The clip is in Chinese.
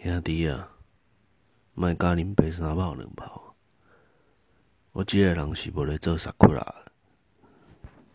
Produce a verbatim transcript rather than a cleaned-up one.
兄弟啊，莫甲啉白沙包两泡。我即个人是无咧做萨库拉的，